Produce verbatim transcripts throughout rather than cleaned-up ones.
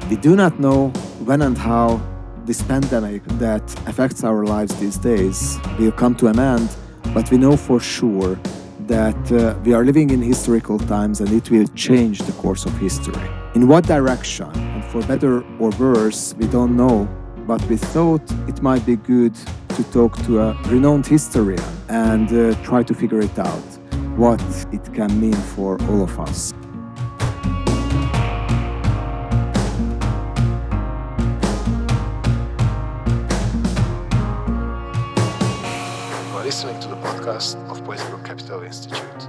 We do not know when and how this pandemic that affects our lives these days will come to an end, but we know for sure that uh, we are living in historical times and it will change the course of history. In what direction, and for better or worse, we don't know, but we thought it might be good to talk to a renowned historian and uh, try to figure it out, what it can mean for all of us. You are listening to the podcast of Political Capital Institute.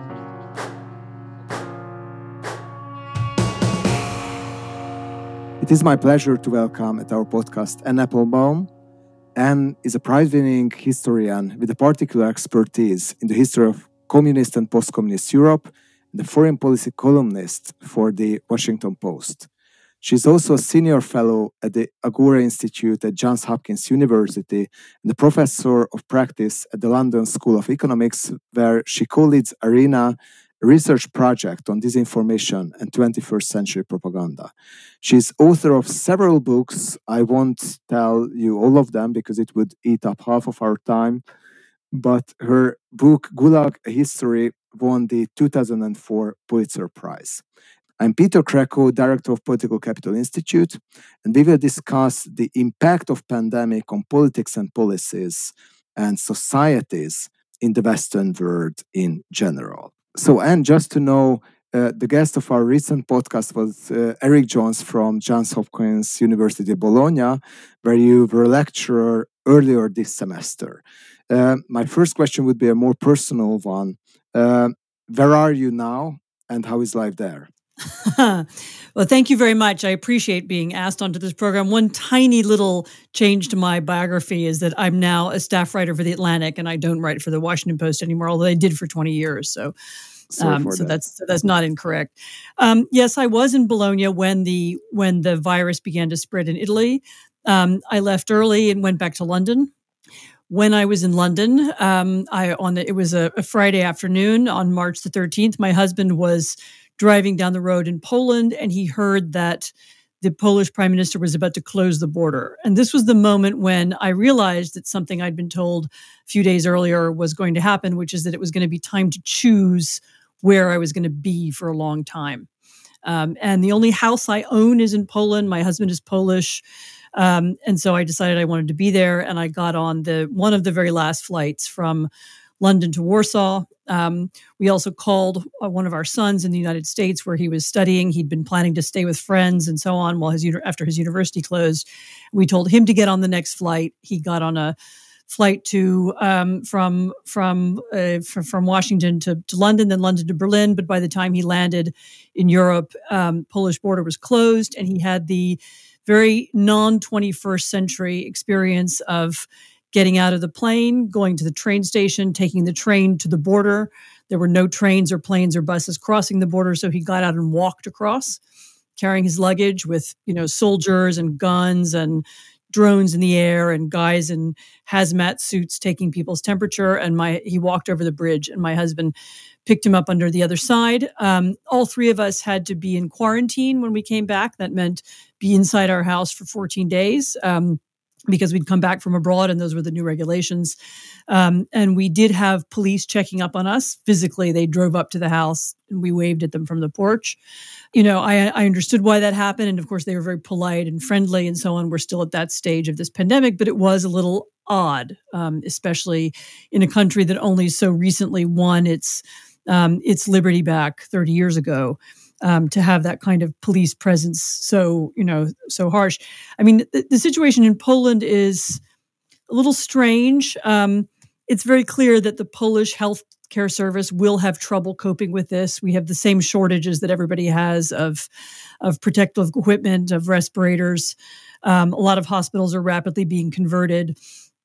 It is my pleasure to welcome at our podcast Anne Applebaum. Anne is a prize-winning historian with a particular expertise in the history of communist and post-communist Europe and a foreign policy columnist for the Washington Post. She is also a senior fellow at the Agora Institute at Johns Hopkins University and a professor of practice at the London School of Economics, where she co-leads ARENA, a research project on disinformation and twenty-first century propaganda. She's author of several books. I won't tell you all of them because it would eat up half of our time. But her book, Gulag, A History, won the two thousand four Pulitzer Prize. I'm Peter Krakow, Director of Political Capital Institute, and we will discuss the impact of pandemic on politics and policies and societies in the Western world in general. So, Anne, just to know, uh, the guest of our recent podcast was uh, Eric Jones from Johns Hopkins University Bologna, where you were a lecturer earlier this semester. Uh, my first question would be a more personal one. Uh, where are you now, and how is life there? Well, thank you very much. I appreciate being asked onto this program. One tiny little change to my biography is that I'm now a staff writer for The Atlantic, and I don't write for The Washington Post anymore, although I did for twenty years. So, um, so that. that's so that's not incorrect. Um, yes, I was in Bologna when the when the virus began to spread in Italy. Um, I left early and went back to London. When I was in London, um, I on the, it was a, a Friday afternoon on March the thirteenth. My husband was driving down the road in Poland, and he heard that the Polish prime minister was about to close the border. And this was the moment when I realized that something I'd been told a few days earlier was going to happen, which is that it was going to be time to choose where I was going to be for a long time. Um, and the only house I own is in Poland. My husband is Polish. Um, and so I decided I wanted to be there, and I got on the one of the very last flights from London to Warsaw. Um, we also called uh, one of our sons in the United States where he was studying. He'd been planning to stay with friends and so on while his after his university closed. We told him to get on the next flight. He got on a flight to um, from from uh, from, from Washington to, to London, then London to Berlin. But by the time he landed in Europe, um, Polish border was closed, and he had the very non-twenty-first century experience of getting out of the plane, going to the train station, taking the train to the border. There were no trains or planes or buses crossing the border, so he got out and walked across, carrying his luggage with, you know, soldiers and guns and drones in the air and guys in hazmat suits taking people's temperature. And my he walked over the bridge, and my husband picked him up under the other side. Um, all three of us had to be in quarantine when we came back. That meant be inside our house for fourteen days. Um, because we'd come back from abroad, and those were the new regulations. Um, and we did have police checking up on us. Physically, they drove up to the house, and we waved at them from the porch. You know, I, I understood why that happened. And of course, they were very polite and friendly and so on. We're still at that stage of this pandemic, but it was a little odd, um, especially in a country that only so recently won its um, its liberty back thirty years ago. Um, to have that kind of police presence so, you know, so harsh. I mean, the, the situation in Poland is a little strange. Um, it's very clear that the Polish healthcare service will have trouble coping with this. We have the same shortages that everybody has of, of protective equipment, of respirators. Um, a lot of hospitals are rapidly being converted.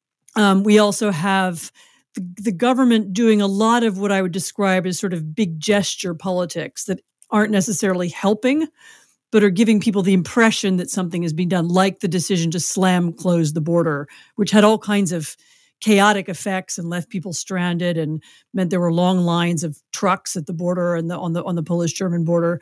Um, we also have the, the government doing a lot of what I would describe as sort of big gesture politics that aren't necessarily helping, but are giving people the impression that something is being done, like the decision to slam close the border, which had all kinds of chaotic effects and left people stranded and meant there were long lines of trucks at the border and the, on the on the Polish-German border.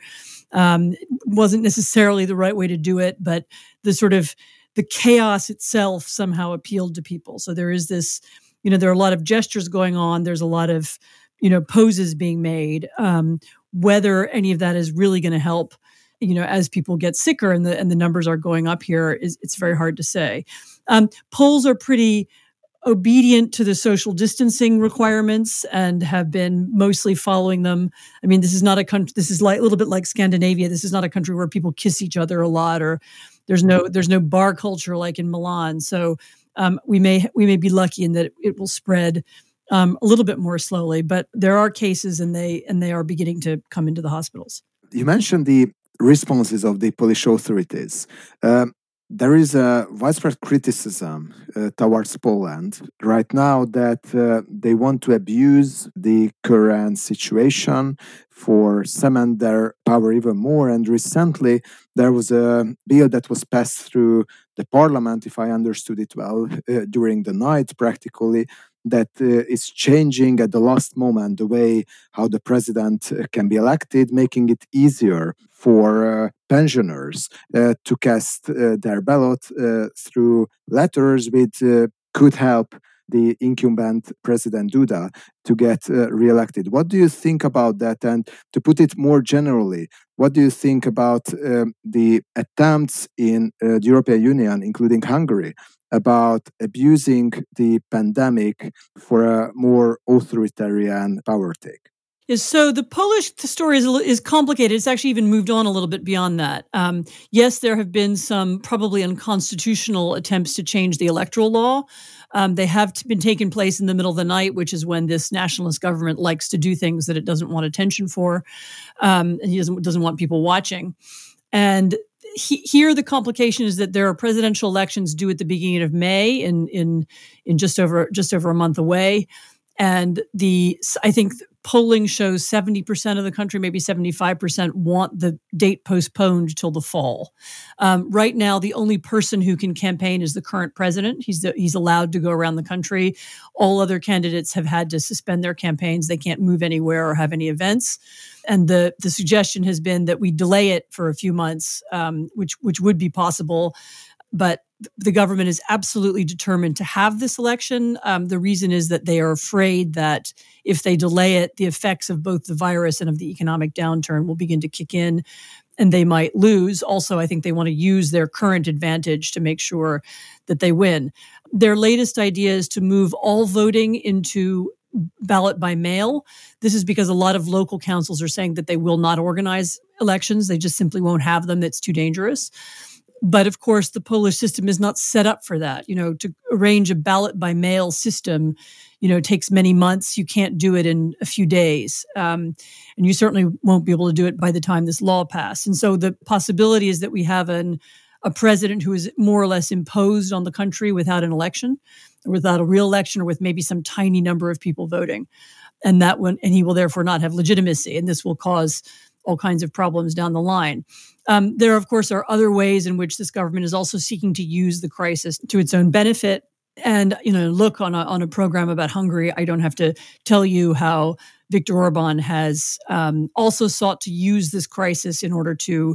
Um, it wasn't necessarily the right way to do it, but the sort of the chaos itself somehow appealed to people. So there is this, you know, there are a lot of gestures going on. There's a lot of, you know, poses being made. Um, whether any of that is really going to help, you know, as people get sicker and the and the numbers are going up here, is it's very hard to say. Um, polls are pretty obedient to the social distancing requirements and have been mostly following them. I mean, this is not a country. This is like a little bit like Scandinavia. This is not a country where people kiss each other a lot, or there's no there's no bar culture like in Milan. So um, we may we may be lucky in that it will spread um, a little bit more slowly. But there are cases, and they and they are beginning to come into the hospitals. You mentioned the responses of the Polish authorities. Um, There is a widespread criticism uh, towards Poland right now that uh, they want to abuse the current situation for cement their power even more. And recently, there was a bill that was passed through the parliament, if I understood it well, uh, during the night practically, that uh, is changing at the last moment the way how the president uh, can be elected, making it easier for uh, pensioners uh, to cast uh, their ballot uh, through letters, which uh, could help the incumbent President Duda to get uh, re-elected. What do you think about that? And to put it more generally, what do you think about um, the attempts in uh, the European Union, including Hungary, about abusing the pandemic for a more authoritarian power take? Is so the Polish story is is complicated. It's actually even moved on a little bit beyond that. Um, yes, there have been some probably unconstitutional attempts to change the electoral law. Um, they have t- been taking place in the middle of the night, which is when this nationalist government likes to do things that it doesn't want attention for, um, and he doesn't doesn't want people watching. And he, here, the complication is that there are presidential elections due at the beginning of May, in in in just over just over a month away. And the I think polling shows seventy percent of the country, maybe seventy-five percent, want the date postponed till the fall. Um, right now, the only person who can campaign is the current president. He's the, he's allowed to go around the country. All other candidates have had to suspend their campaigns. They can't move anywhere or have any events. And the the suggestion has been that we delay it for a few months, um, which which would be possible. But the government is absolutely determined to have this election. Um, the reason is that they are afraid that if they delay it, the effects of both the virus and of the economic downturn will begin to kick in, and they might lose. Also, I think they want to use their current advantage to make sure that they win. Their latest idea is to move all voting into ballot by mail. This is because a lot of local councils are saying that they will not organize elections. They just simply won't have them. It's too dangerous. But of course, the Polish system is not set up for that. You know, to arrange a ballot by mail system, you know, takes many months. You can't do it in a few days. Um, and you certainly won't be able to do it by the time this law passed. And so the possibility is that we have an, a president who is more or less imposed on the country without an election, or without a real election, or with maybe some tiny number of people voting. And that one, and he will therefore not have legitimacy. And this will cause all kinds of problems down the line. Um, there, of course, are other ways in which this government is also seeking to use the crisis to its own benefit. And, you know, look, on a, on a program about Hungary, I don't have to tell you how Viktor Orban has um, also sought to use this crisis in order to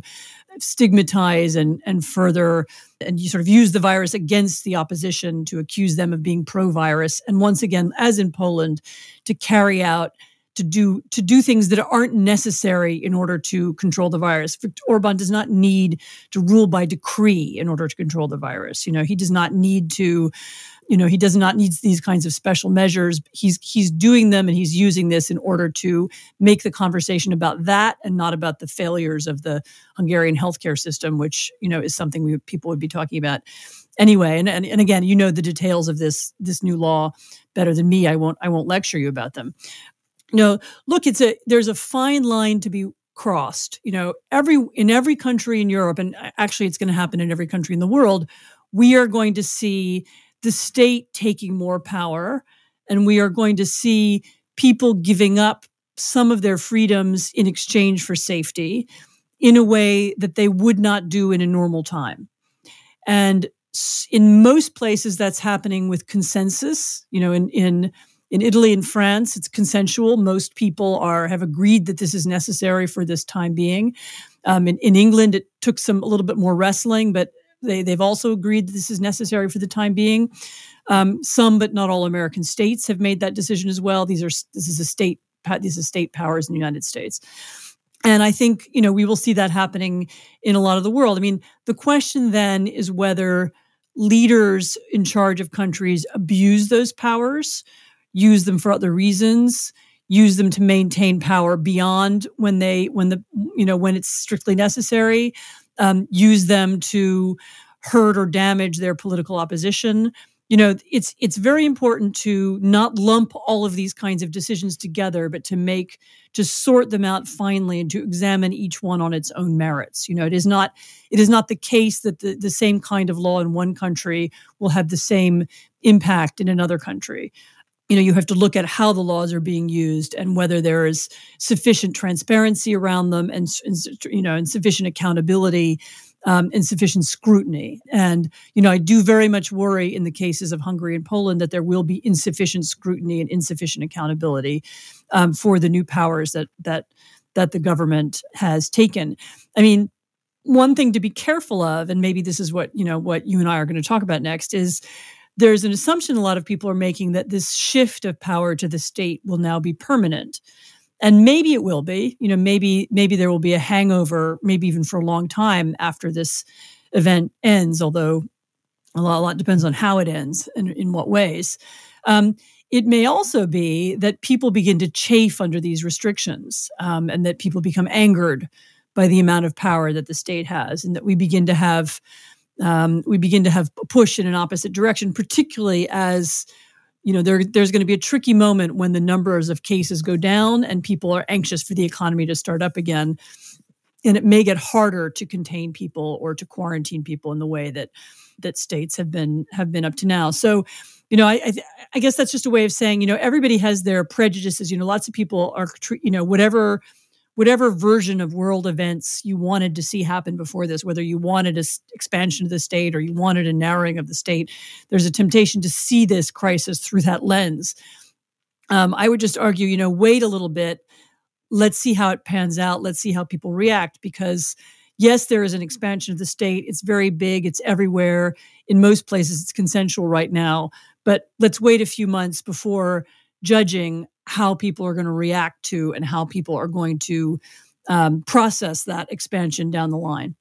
stigmatize and, and further, and you sort of use the virus against the opposition to accuse them of being pro-virus. And once again, as in Poland, to carry out to do to do things that aren't necessary in order to control the virus. Viktor Orban does not need to rule by decree in order to control the virus. You know, he does not need to, you know, he does not need these kinds of special measures. He's he's doing them, and he's using this in order to make the conversation about that and not about the failures of the Hungarian healthcare system, which, you know, is something we people would be talking about anyway. And and, and again, you know the details of this this new law better than me. I won't I won't lecture you about them. You know, look, it's a there's a fine line to be crossed. You know, every in every country in Europe, and actually it's going to happen in every country in the world, we are going to see the state taking more power, and we are going to see people giving up some of their freedoms in exchange for safety in a way that they would not do in a normal time. And in most places, that's happening with consensus. You know, in in In Italy and France, it's consensual. Most people are have agreed that this is necessary for this time being. Um, in, in England, it took some a little bit more wrestling, but they, they've also agreed that this is necessary for the time being. Um, some, but not all American states have made that decision as well. These are this is a state these are state powers in the United States. And I think, you know, we will see that happening in a lot of the world. I mean, the question then is whether leaders in charge of countries abuse those powers, use them for other reasons, use them to maintain power beyond when they, when the, you know, when it's strictly necessary, um, use them to hurt or damage their political opposition. You know, it's it's very important to not lump all of these kinds of decisions together, but to make, to sort them out finely and to examine each one on its own merits. You know, it is not it is not the case that the, the same kind of law in one country will have the same impact in another country. You know, you have to look at how the laws are being used and whether there is sufficient transparency around them and, and you know, and sufficient accountability. Um, insufficient scrutiny. And, you know, I do very much worry in the cases of Hungary and Poland that there will be insufficient scrutiny and insufficient accountability um, for the new powers that that that the government has taken. I mean, one thing to be careful of, and maybe this is what, you know, what you and I are going to talk about next, is there's an assumption a lot of people are making that this shift of power to the state will now be permanent. And maybe it will be, you know, maybe maybe there will be a hangover, maybe even for a long time after this event ends, although a lot, a lot depends on how it ends and in what ways. Um, it may also be that people begin to chafe under these restrictions um, and that people become angered by the amount of power that the state has, and that we begin to have um, we begin to have a push in an opposite direction, particularly as You know, there, there's going to be a tricky moment when the numbers of cases go down and people are anxious for the economy to start up again. And it may get harder to contain people or to quarantine people in the way that that states have been have been up to now. So, you know, I I, I guess that's just a way of saying, you know, everybody has their prejudices. You know, lots of people are, you know, whatever whatever version of world events you wanted to see happen before this, whether you wanted an expansion of the state or you wanted a narrowing of the state, there's a temptation to see this crisis through that lens. Um, I would just argue, you know, wait a little bit. Let's see how it pans out. Let's see how people react, because yes, there is an expansion of the state. It's very big. It's everywhere. In most places, it's consensual right now. But let's wait a few months before judging how people are going to react to and how people are going to um, process that expansion down the line.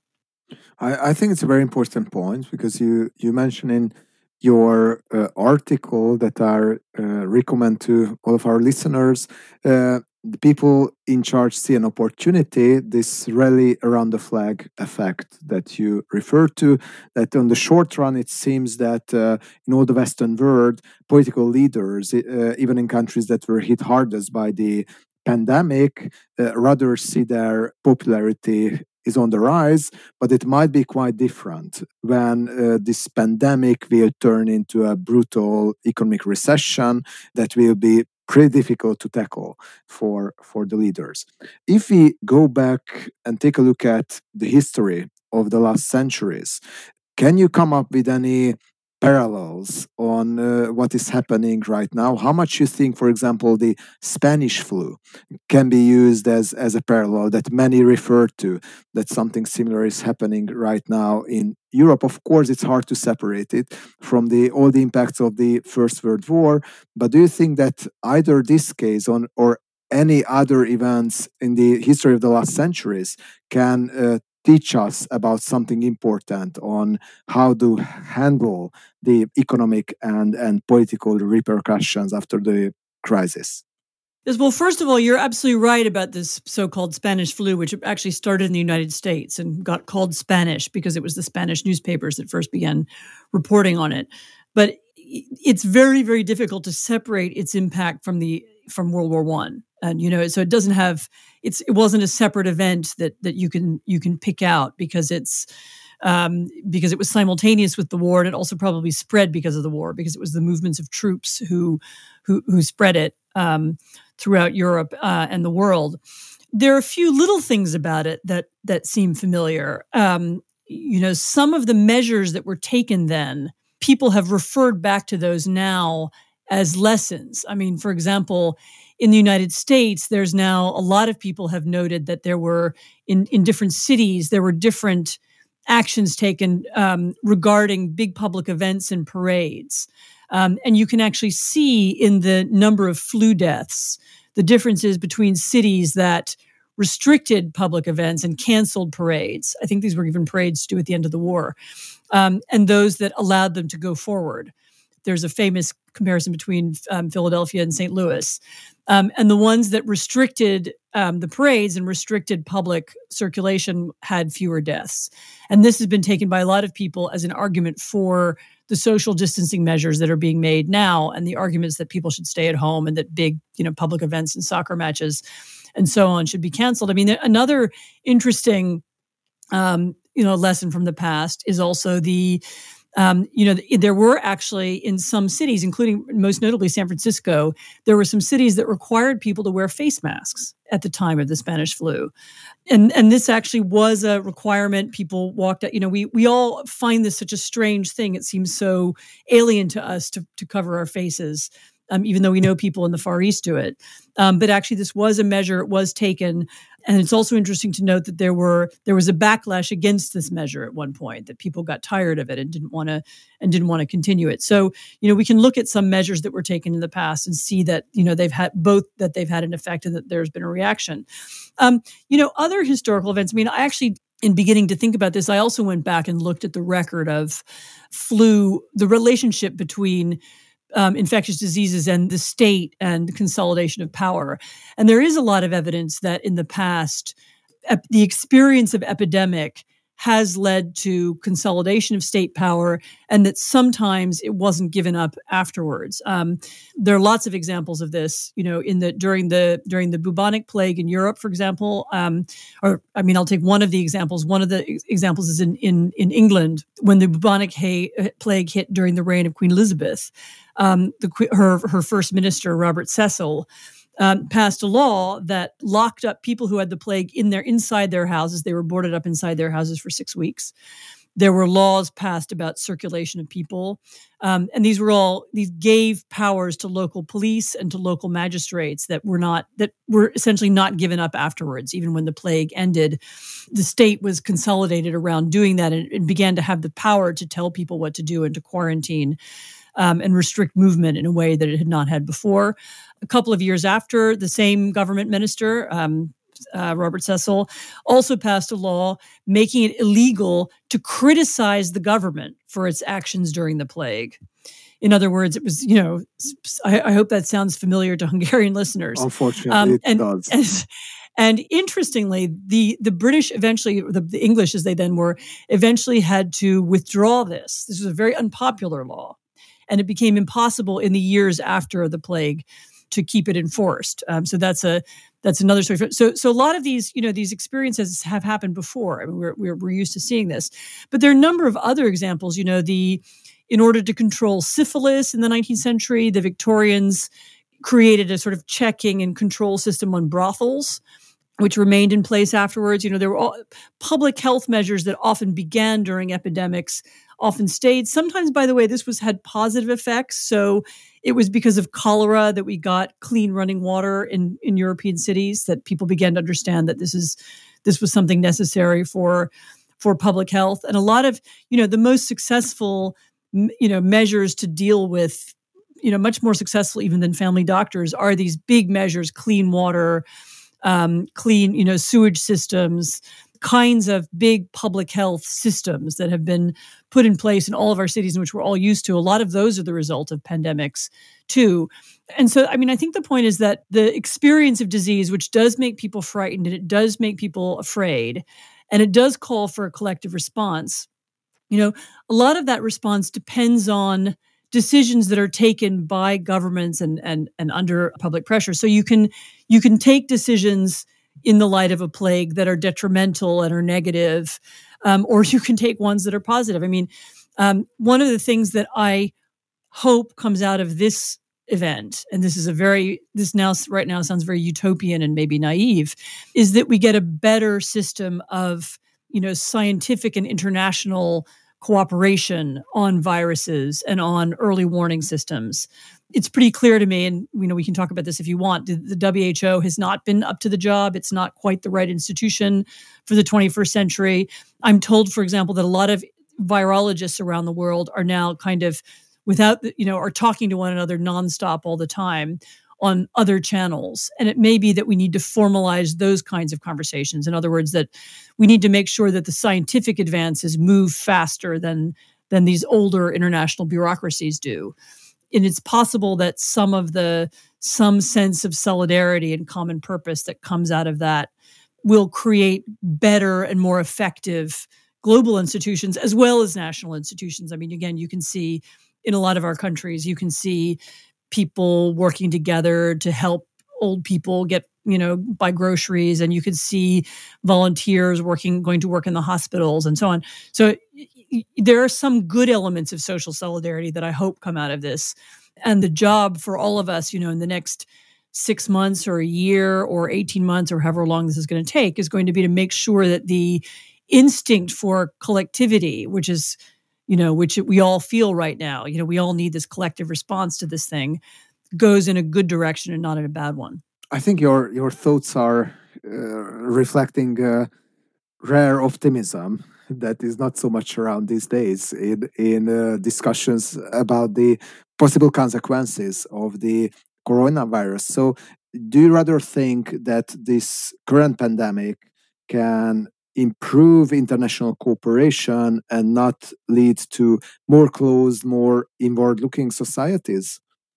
I, I think it's a very important point, because you you mentioned in your uh, article that I uh, recommend to all of our listeners, uh, the people in charge see an opportunity, this rally around the flag effect that you refer to, that on the short run, it seems that uh, in all the Western world, political leaders, uh, even in countries that were hit hardest by the pandemic, uh, rather see their popularity is on the rise, but it might be quite different when uh, this pandemic will turn into a brutal economic recession that will be pretty difficult to tackle for, for the leaders. If we go back and take a look at the history of the last centuries, can you come up with any parallels on uh, what is happening right now? How much you think, for example, the Spanish flu can be used as, as a parallel that many refer to, that something similar is happening right now in Europe? Of course, it's hard to separate it from the all the impacts of the First World War, but do you think that either this case on or any other events in the history of the last centuries can uh, teach us about something important on how to handle the economic and, and political repercussions after the crisis? Yes, well, first of all, you're absolutely right about this so-called Spanish flu, which actually started in the United States and got called Spanish because it was the Spanish newspapers that first began reporting on it. But it's very, very difficult to separate its impact from the from World War One, and you know, so it doesn't have it's it wasn't a separate event that that you can you can pick out because it's um, because it was simultaneous with the war, and it also probably spread because of the war, because it was the movements of troops who who who spread it um, throughout Europe uh, and the world. There are a few little things about it that that seem familiar. Um, you know, some of the measures that were taken then, people have referred back to those now as lessons. I mean, for example, in the United States, there's now a lot of people have noted that there were in, in different cities, there were different actions taken um, regarding big public events and parades. Um, and you can actually see in the number of flu deaths, the differences between cities that restricted public events and canceled parades. I think these were even parades to do at the end of the war, um, and those that allowed them to go forward. There's a famous comparison between um, Philadelphia and Saint Louis. Um, and the ones that restricted um, the parades and restricted public circulation had fewer deaths. And this has been taken by a lot of people as an argument for the social distancing measures that are being made now, and the arguments that people should stay at home and that big, you know, public events and soccer matches and so on should be canceled. I mean, another interesting, um, you know, lesson from the past is also the Um, you know, there were actually in some cities, including most notably San Francisco, there were some cities that required people to wear face masks at the time of the Spanish flu. And and this actually was a requirement. People walked out, you know, we we all find this such a strange thing. It seems so alien to us to, to cover our faces, um, even though we know people in the Far East do it. Um, but actually, this was a measure, it was taken. And it's also interesting to note that there were there was a backlash against this measure at one point, that people got tired of it and didn't want to and didn't want to continue it. So, you know, we can look at some measures that were taken in the past and see that, you know, they've had both that they've had an effect and that there's been a reaction. Um, you know, other historical events. I mean, I actually, in beginning to think about this, I also went back and looked at the record of flu, the relationship between Um, infectious diseases and the state and consolidation of power. And there is a lot of evidence that in the past, ep- the experience of epidemic has led to consolidation of state power, and that sometimes it wasn't given up afterwards. Um, there are lots of examples of this, you know, in the during the during the bubonic plague in Europe, for example. Um, or I mean, I'll take one of the examples. One of the ex- examples is in in in England when the bubonic hay, plague hit during the reign of Queen Elizabeth. Um, the, her her first minister, Robert Cecil, um, passed a law that locked up people who had the plague in their inside their houses. They were boarded up inside their houses for six weeks. There were laws passed about circulation of people, um, and these were all these gave powers to local police and to local magistrates that were not that were essentially not given up afterwards. Even when the plague ended, the state was consolidated around doing that and, and began to have the power to tell people what to do and to quarantine Um, and restrict movement in a way that it had not had before. A couple of years after, the same government minister, um, uh, Robert Cecil, also passed a law making it illegal to criticize the government for its actions during the plague. In other words, it was, you know, I, I hope that sounds familiar to Hungarian listeners. Unfortunately, um, it and, does. And, and interestingly, the, the British eventually, the, the English as they then were, eventually had to withdraw this. This was a very unpopular law. And it became impossible in the years after the plague to keep it enforced. Um, so that's a that's another story. So so a lot of these, you know, these experiences have happened before. I mean, we're we're, we're used to seeing this, but there are a number of other examples. You know, the in order to control syphilis in the nineteenth century, the Victorians created a sort of checking and control system on brothels, which remained in place afterwards. You know, there were all public health measures that often began during epidemics, often stayed. Sometimes, by the way, this was had positive effects. So it was because of cholera that we got clean running water in, in European cities, that people began to understand that this is this was something necessary for, for public health. And a lot of, you know, the most successful, you know, measures to deal with, you know, much more successful even than family doctors are these big measures: clean water, um, clean, you know, sewage systems, kinds of big public health systems that have been put in place in all of our cities, in which we're all used to. A lot of those are the result of pandemics too. And so, I mean, I think the point is that the experience of disease, which does make people frightened and it does make people afraid, and it does call for a collective response, you know, a lot of that response depends on decisions that are taken by governments and and and under public pressure. So you can you can take decisions in the light of a plague that are detrimental and are negative, um, or you can take ones that are positive. I mean, um, one of the things that I hope comes out of this event, and this is a very this now right now sounds very utopian and maybe naive, is that we get a better system of, you know, scientific and international cooperation on viruses and on early warning systems. It's pretty clear to me, and you know we can talk about this if you want, the, the W H O has not been up to the job. It's not quite the right institution for the twenty-first century. I'm told, for example, that a lot of virologists around the world are now kind of without, you know, are talking to one another nonstop all the time on other channels. And it may be that we need to formalize those kinds of conversations. In other words, that we need to make sure that the scientific advances move faster than, than these older international bureaucracies do. And it's possible that some of the, some sense of solidarity and common purpose that comes out of that will create better and more effective global institutions as well as national institutions. I mean, again, you can see in a lot of our countries, you can see people working together to help old people get, you know, buy groceries, and you could see volunteers working, going to work in the hospitals and so on. So there are some good elements of social solidarity that I hope come out of this. And the job for all of us, you know, in the next six months or a year or eighteen months or however long this is going to take is going to be to make sure that the instinct for collectivity, which is, you know, which we all feel right now, you know, we all need this collective response to this thing, goes in a good direction and not in a bad one. I think your your thoughts are uh, reflecting uh, rare optimism that is not so much around these days in in uh, discussions about the possible consequences of the coronavirus. So, do you rather think that this current pandemic can improve international cooperation and not lead to more closed, more inward-looking societies?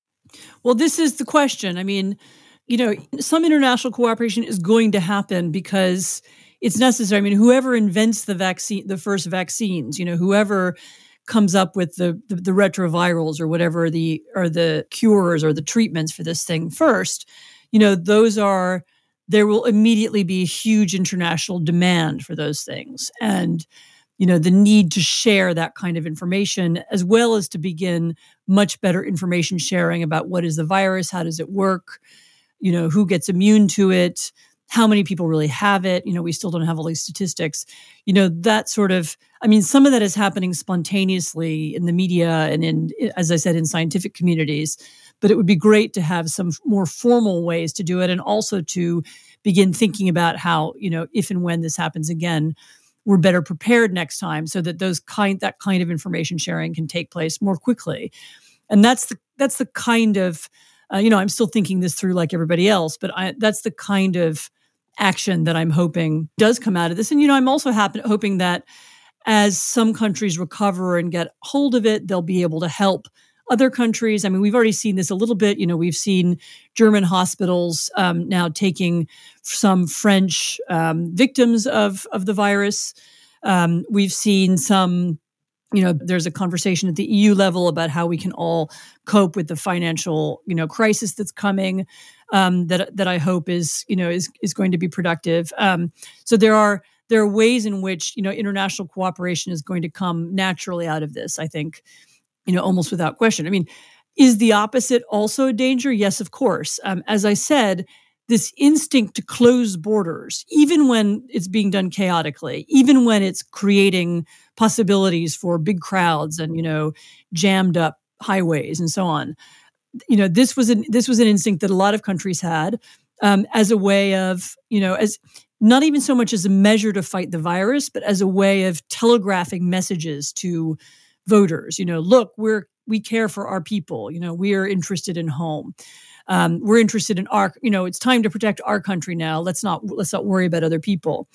Well, this is the question. I mean, you know, some international cooperation is going to happen because it's necessary. I mean, whoever invents the vaccine, the first vaccines, you know, whoever comes up with the, the the retrovirals or whatever the or the cures or the treatments for this thing first, you know, those are there will immediately be a huge international demand for those things. And you know, the need to share that kind of information, as well as to begin much better information sharing about what is the virus, how does it work, you know, who gets immune to it, how many people really have it. You know, we still don't have all these statistics. You know, that sort of, I mean, some of that is happening spontaneously in the media and in, as I said, in scientific communities. But it would be great to have some more formal ways to do it, and also to begin thinking about how, you know, if and when this happens again, we're better prepared next time, so that those kind that kind of information sharing can take place more quickly. And that's the that's the kind of uh, you know I'm still thinking this through like everybody else, but I, that's the kind of action that I'm hoping does come out of this. And you know I'm also happen, hoping that as some countries recover and get hold of it, they'll be able to help other countries. I mean, we've already seen this a little bit. You know, we've seen German hospitals um, now taking some French um, victims of of the virus. Um, we've seen some, you know, there's a conversation at the E U level about how we can all cope with the financial, you know, crisis that's coming. Um, that that I hope is, you know, is is going to be productive. Um, so there are there are ways in which, you know, international cooperation is going to come naturally out of this, I think. You know, almost without question. I mean, is the opposite also a danger? Yes, of course. Um, as I said, this instinct to close borders, even when it's being done chaotically, even when it's creating possibilities for big crowds and, you know, jammed up highways and so on. You know, this was an this was an instinct that a lot of countries had um, as a way of, you know, as not even so much as a measure to fight the virus, but as a way of telegraphing messages to voters. You know, look, we're we care for our people. You know, we are interested in home. Um, we're interested in our. You know, it's time to protect our country now. Let's not let's not worry about other people.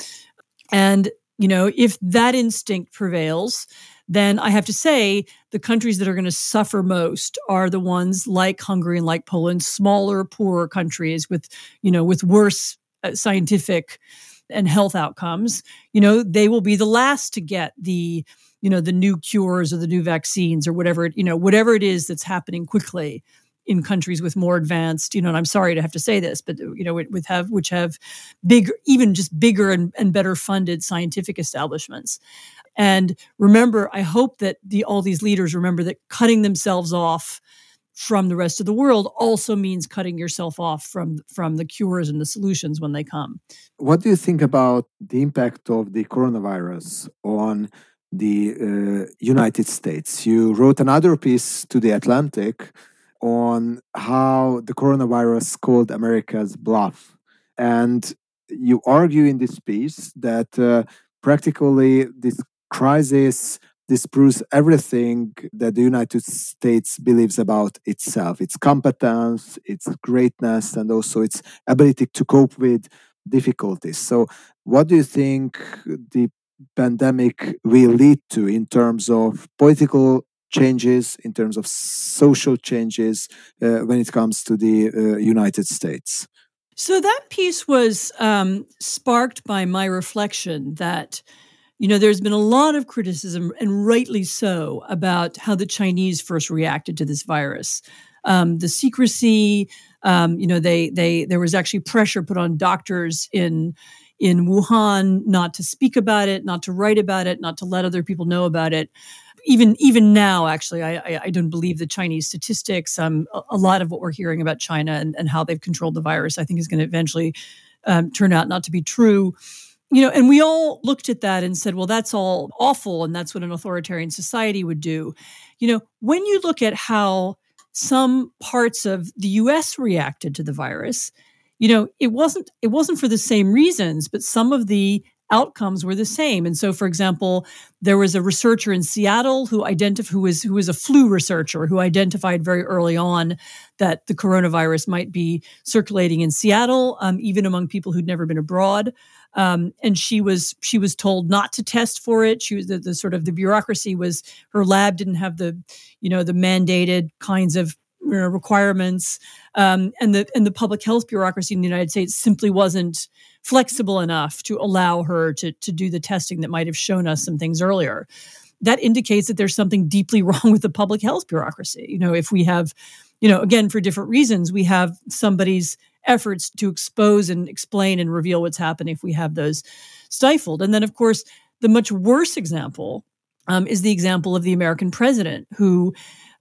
And you know, if that instinct prevails, then I have to say the countries that are going to suffer most are the ones like Hungary and like Poland, smaller, poorer countries with, you know, with worse uh, scientific and health outcomes. You know, they will be the last to get the you know, the new cures or the new vaccines or whatever, you know, whatever it is that's happening quickly in countries with more advanced, you know, and I'm sorry to have to say this, but, you know, with have, which have bigger, even just bigger and, and better funded scientific establishments. And remember, I hope that the all these leaders remember that cutting themselves off from the rest of the world also means cutting yourself off from, from the cures and the solutions when they come. What do you think about the impact of the coronavirus on the uh, United States. You wrote another piece to The Atlantic on how the coronavirus called America's bluff. And you argue in this piece that uh, practically this crisis disproves everything that the United States believes about itself, its competence, its greatness, and also its ability to cope with difficulties. So, what do you think the pandemic will lead to in terms of political changes, in terms of social changes uh, when it comes to the uh, United States? So that piece was um, sparked by my reflection that, you know, there's been a lot of criticism, and rightly so, about how the Chinese first reacted to this virus. Um, the secrecy, um, you know, they they there was actually pressure put on doctors in in Wuhan not to speak about it, not to write about it, not to let other people know about it. Even even now, actually, I, I, I don't believe the Chinese statistics. Um, a, a lot of what we're hearing about China and, and how they've controlled the virus, I think, is going to eventually um, turn out not to be true. You know, and we all looked at that and said, well, that's all awful, and that's what an authoritarian society would do. You know, when you look at how some parts of the U S reacted to the virus, you know, it wasn't it wasn't for the same reasons, but some of the outcomes were the same. And so, for example, there was a researcher in Seattle who identified who was who was a flu researcher who identified very early on that the coronavirus might be circulating in Seattle, um, even among people who'd never been abroad. Um, and she was she was told not to test for it. She was the, the sort of the bureaucracy was her lab didn't have the, you know, the mandated kinds of you know, requirements, um, and the and the public health bureaucracy in the United States simply wasn't flexible enough to allow her to to do the testing that might have shown us some things earlier. That indicates that there's something deeply wrong with the public health bureaucracy. You know, if we have, you know, again for different reasons, we have somebody's efforts to expose and explain and reveal what's happening if we have those stifled. And then, of course, the much worse example um, is the example of the American president, who,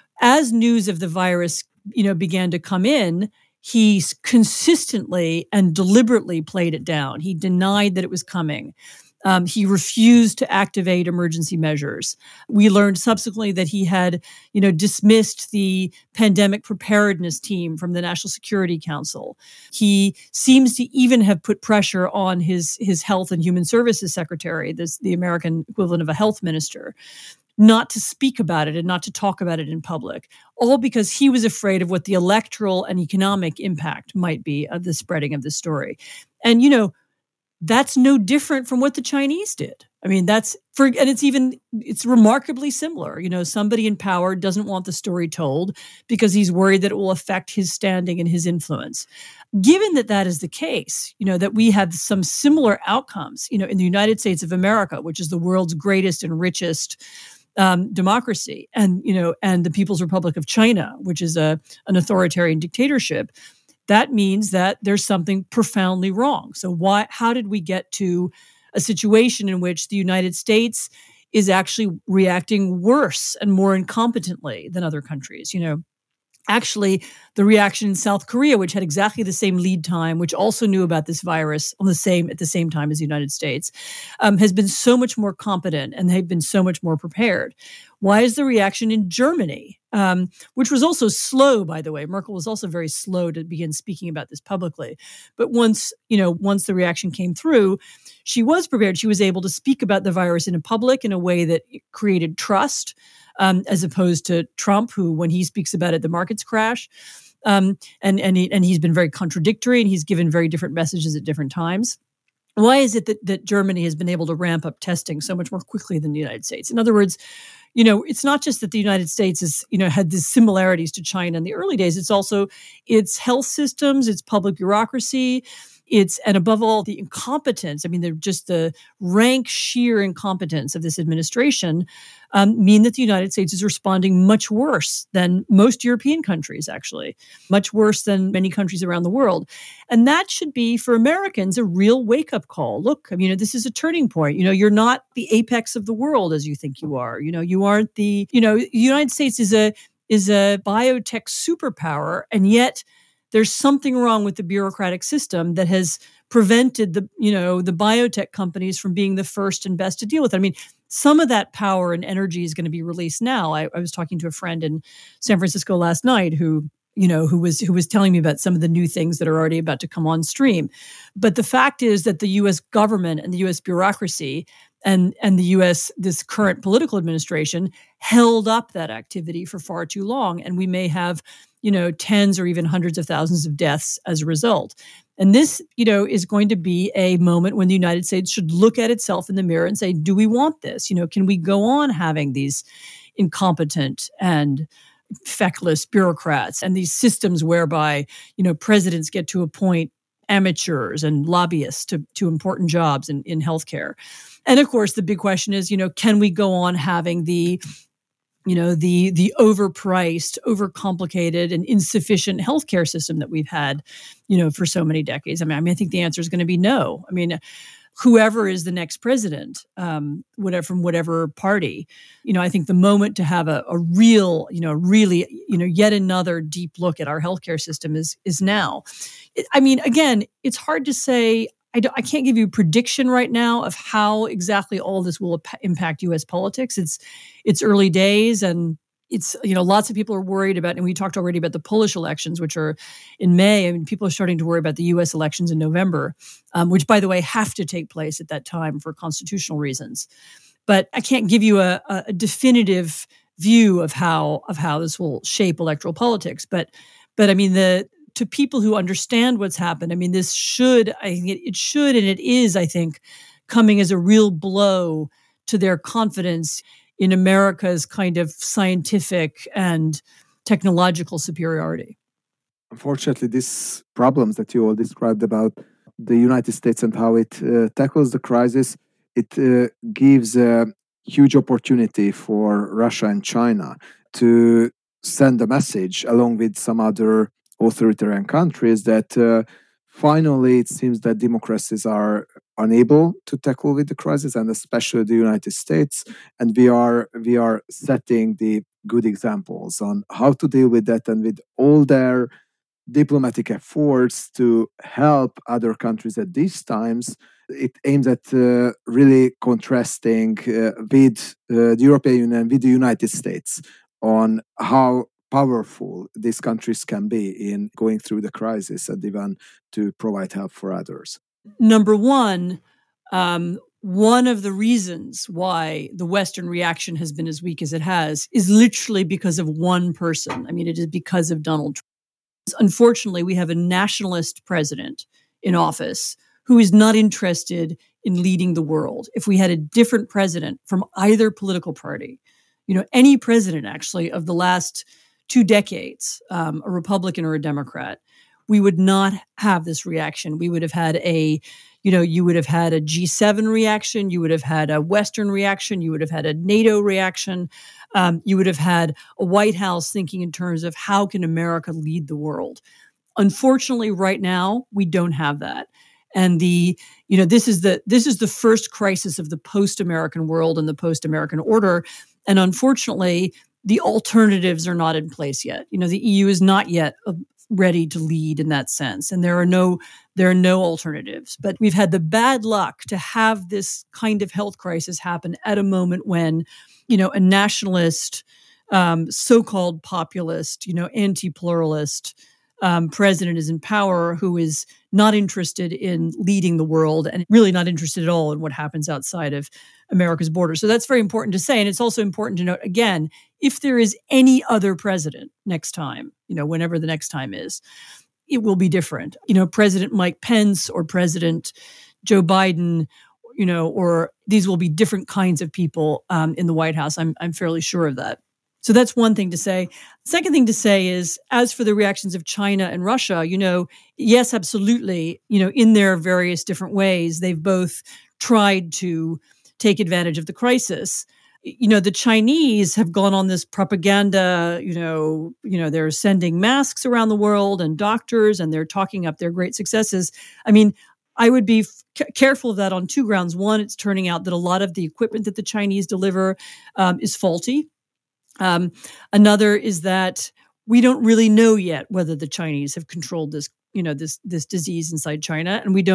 as news of the virus, you know, began to come in, he consistently and deliberately played it down. He denied that it was coming. Um, he refused to activate emergency measures. We learned subsequently that he had, you know, dismissed the pandemic preparedness team from the National Security Council. He seems to even have put pressure on his his Health and Human Services Secretary, this the American equivalent of a health minister, not to speak about it and not to talk about it in public, all because he was afraid of what the electoral and economic impact might be of the spreading of the story. And, you know, that's no different from what the Chinese did. I mean, that's for, and it's even, it's remarkably similar. You know, somebody in power doesn't want the story told because he's worried that it will affect his standing and his influence. Given that that is the case, you know, that we have some similar outcomes, you know, in the United States of America, which is the world's greatest and richest um, democracy, and, you know, and the People's Republic of China, which is a an authoritarian dictatorship, that means that there's something profoundly wrong. So why, how did we get to a situation in which the United States is actually reacting worse and more incompetently than other countries? You know, actually, the reaction in South Korea, which had exactly the same lead time, which also knew about this virus on the same at the same time as the United States, um, has been so much more competent, and they've been so much more prepared. Why is the reaction in Germany, um, which was also slow, by the way? Merkel was also very slow to begin speaking about this publicly. But once, you know, once the reaction came through, she was prepared. She was able to speak about the virus in public in a way that created trust. Um, as opposed to Trump, who, when he speaks about it, the markets crash. Um, and and he, and he's been very contradictory, and he's given very different messages at different times. Why is it that, that Germany has been able to ramp up testing so much more quickly than the United States? In other words, you know, it's not just that the United States is, you know, had these similarities to China in the early days. It's also its health systems, its public bureaucracy, it's, and above all, the incompetence. I mean, they're just the rank, sheer incompetence of this administration um, mean that the United States is responding much worse than most European countries, actually, much worse than many countries around the world. And that should be, for Americans, a real wake-up call. Look, I mean, this is a turning point. You know, you're not the apex of the world as you think you are. You know, you aren't the, you know, the United States is a is a biotech superpower, and yet there's something wrong with the bureaucratic system that has prevented the, you know, the biotech companies from being the first and best to deal with it. I mean, some of that power and energy is going to be released now. I, I was talking to a friend in San Francisco last night who, you know, who was who was telling me about some of the new things that are already about to come on stream. But the fact is that the U S government and the U S bureaucracy and and the U S, this current political administration, held up that activity for far too long. And we may have, you know, tens or even hundreds of thousands of deaths as a result. And this, you know, is going to be a moment when the United States should look at itself in the mirror and say, do we want this? You know, can we go on having these incompetent and feckless bureaucrats and these systems whereby, you know, presidents get to appoint amateurs and lobbyists to, to important jobs in, in healthcare? And of course, the big question is, you know, can we go on having the you know, the the overpriced, overcomplicated, and insufficient healthcare system that we've had, you know, for so many decades? I mean, I mean, I think the answer is going to be no. I mean, whoever is the next president, um, whatever from whatever party, you know, I think the moment to have a, a real, you know, really, you know, yet another deep look at our healthcare system is is now. It, I mean, again, it's hard to say. I, I can't give you a prediction right now of how exactly all this will ap- impact U S politics. It's it's early days, and it's, you know, lots of people are worried about, and we talked already about the Polish elections, which are in May. I mean, people are starting to worry about the U S elections in November, um, which, by the way, have to take place at that time for constitutional reasons. But I can't give you a, a definitive view of how of how this will shape electoral politics. But but I mean the. To people who understand what's happened, I mean, this should, I think it, it should, and it is, I think, coming as a real blow to their confidence in America's kind of scientific and technological superiority. Unfortunately, these problems that you all described about the United States and how it uh, tackles the crisis, it uh, gives a huge opportunity for Russia and China to send a message along with some other authoritarian countries that uh, finally it seems that democracies are unable to tackle with the crisis, and especially the United States, and we are we are setting the good examples on how to deal with that, and with all their diplomatic efforts to help other countries at these times. It aims at uh, really contrasting uh, with uh, the European Union, with the United States, on how powerful these countries can be in going through the crisis and even to provide help for others. Number one, um, one of the reasons why the Western reaction has been as weak as it has is literally because of one person. I mean, it is because of Donald Trump. Unfortunately, we have a nationalist president in office who is not interested in leading the world. If we had a different president from either political party, you know, any president actually of the last two decades, um, a Republican or a Democrat, we would not have this reaction. We would have had a, you know, you would have had a G seven reaction. You would have had a Western reaction. You would have had a NATO reaction. Um, you would have had a White House thinking in terms of how can America lead the world. Unfortunately, right now, we don't have that. And the, you know, this is the this is the first crisis of the post-American world and the post-American order. And unfortunately, the alternatives are not in place yet. You know, the E U is not yet uh, ready to lead in that sense, and there are no there are no alternatives. But we've had the bad luck to have this kind of health crisis happen at a moment when, you know, a nationalist, um, so-called populist, you know, anti-pluralist um, president is in power, who is not interested in leading the world and really not interested at all in what happens outside of America's borders. So that's very important to say. And it's also important to note, again, if there is any other president next time, you know, whenever the next time is, it will be different. You know, President Mike Pence or President Joe Biden, you know, or these will be different kinds of people um, in the White House. I'm I'm fairly sure of that. So that's one thing to say. Second thing to say is, as for the reactions of China and Russia, you know, yes, absolutely, you know, in their various different ways, they've both tried to take advantage of the crisis. You know, the Chinese have gone on this propaganda, you know, you know, they're sending masks around the world and doctors, and they're talking up their great successes. I mean, I would be f- careful of that on two grounds. One, it's turning out that a lot of the equipment that the Chinese deliver um, is faulty. Um, another is that we don't really know yet whether the Chinese have controlled this, you know, this this disease inside China, and we don't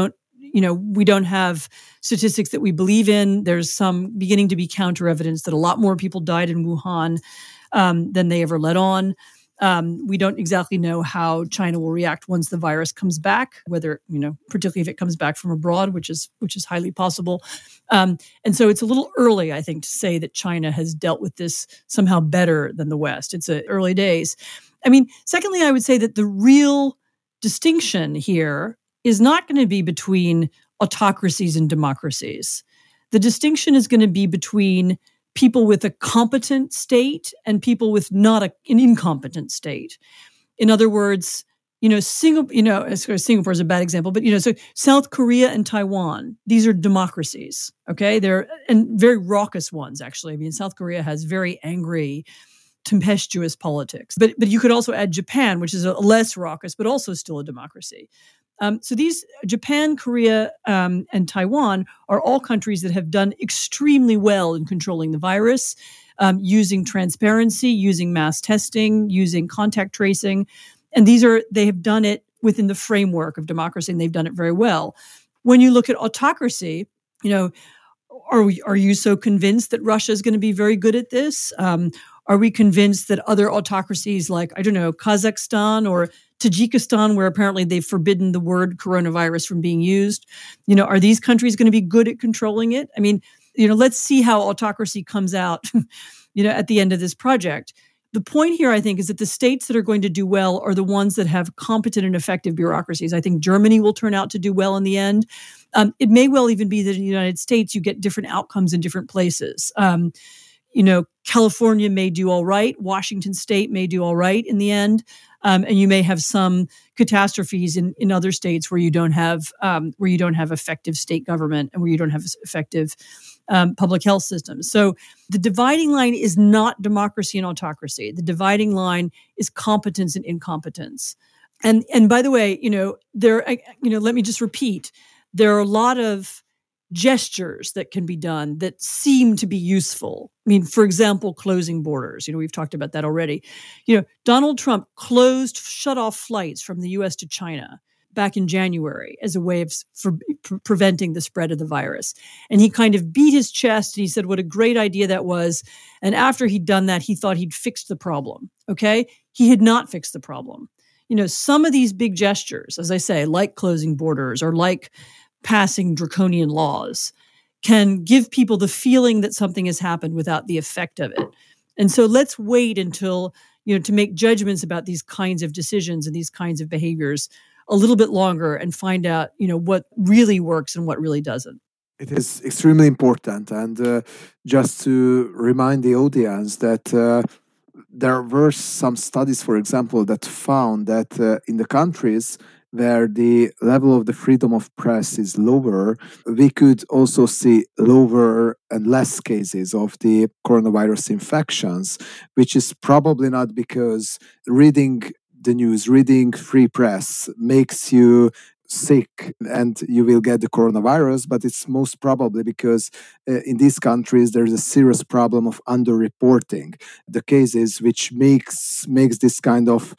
you know, we don't have statistics that we believe in. There's some beginning to be counter evidence that a lot more people died in Wuhan um, than they ever let on. Um, we don't exactly know how China will react once the virus comes back, whether, you know, particularly if it comes back from abroad, which is which is highly possible. Um, and so it's a little early, I think, to say that China has dealt with this somehow better than the West. It's a early days. I mean, secondly, I would say that the real distinction here is not going to be between autocracies and democracies. The distinction is going to be between people with a competent state and people with not a, an incompetent state. In other words, you know, Singapore, you know, Singapore is a bad example, but, you know, so South Korea and Taiwan, these are democracies, okay? They're, and very raucous ones, actually. I mean, South Korea has very angry, tempestuous politics. But, but you could also add Japan, which is a less raucous, but also still a democracy. Um, so these, Japan, Korea, um, and Taiwan are all countries that have done extremely well in controlling the virus, um, using transparency, using mass testing, using contact tracing. And these are, they have done it within the framework of democracy, and they've done it very well. When you look at autocracy, you know, are we, are you so convinced that Russia is going to be very good at this? Um, are we convinced that other autocracies like, I don't know, Kazakhstan or Tajikistan, where apparently they've forbidden the word coronavirus from being used, you know, are these countries going to be good at controlling it? I mean, you know, let's see how autocracy comes out, you know, at the end of this project. The point here, I think, is that the states that are going to do well are the ones that have competent and effective bureaucracies. I think Germany will turn out to do well in the end. Um, it may well even be that in the United States, you get different outcomes in different places. Um, you know, California may do all right. Washington State may do all right in the end. Um, and you may have some catastrophes in, in other states where you don't have um, where you don't have effective state government and where you don't have effective um, public health systems. So the dividing line is not democracy and autocracy. The dividing line is competence and incompetence. And and by the way, you know, there, you know, let me just repeat, there are a lot of gestures that can be done that seem to be useful. I mean, for example, closing borders. You know, we've talked about that already. You know, Donald Trump closed, shut off flights from the U S to China back in January as a way of for, pre- preventing the spread of the virus. And he kind of beat his chest and he said what a great idea that was. And after he'd done that, he thought he'd fixed the problem. Okay? He had not fixed the problem. You know, some of these big gestures, as I say, like closing borders or like passing draconian laws, can give people the feeling that something has happened without the effect of it. And so let's wait until, you know, to make judgments about these kinds of decisions and these kinds of behaviors a little bit longer and find out, you know, what really works and what really doesn't. It is extremely important. And uh, just to remind the audience that uh, there were some studies, for example, that found that uh, in the countries where the level of the freedom of press is lower, we could also see lower and less cases of the coronavirus infections, which is probably not because reading the news, reading free press makes you sick and you will get the coronavirus, but it's most probably because uh, in these countries there's a serious problem of underreporting the cases, which makes makes this kind of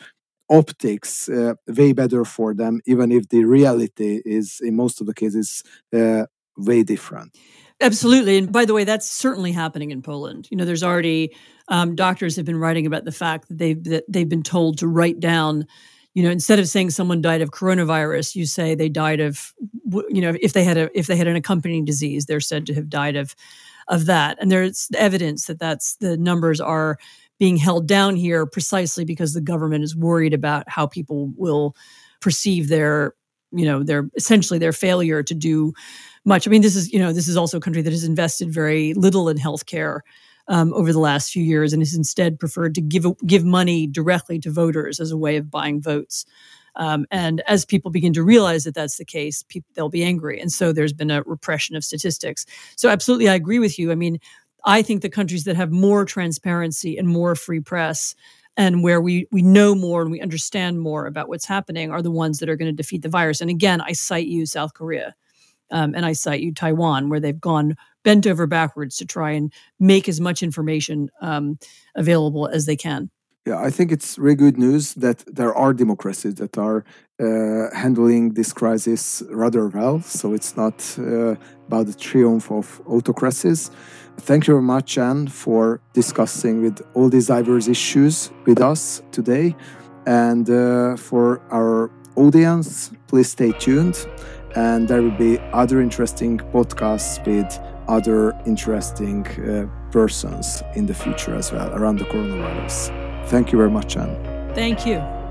optics uh, way better for them, even if the reality is in most of the cases uh, way different. Absolutely. And by the way, that's certainly happening in Poland. You know, there's already um, doctors have been writing about the fact that they've that they've been told to write down, you know, instead of saying someone died of coronavirus, you say they died of, you know, if they had a if they had an accompanying disease, they're said to have died of of that. And there's evidence that that's the numbers are being held down here precisely because the government is worried about how people will perceive their, you know, their essentially their failure to do much. I mean, this is, you know, this is also a country that has invested very little in healthcare um, over the last few years and has instead preferred to give give money directly to voters as a way of buying votes. Um, and as people begin to realize that that's the case, people, they'll be angry. And so there's been a repression of statistics. So absolutely, I agree with you. I mean, I think the countries that have more transparency and more free press and where we we know more and we understand more about what's happening are the ones that are going to defeat the virus. And again, I cite you South Korea um, and I cite you Taiwan, where they've gone bent over backwards to try and make as much information um, available as they can. Yeah, I think it's really good news that there are democracies that are uh, handling this crisis rather well. So it's not uh, about the triumph of autocracies. Thank you very much, Anne, for discussing with all these diverse issues with us today. And uh, for our audience, please stay tuned. And there will be other interesting podcasts with other interesting uh, persons in the future as well around the coronavirus. Thank you very much, Anne. Thank you.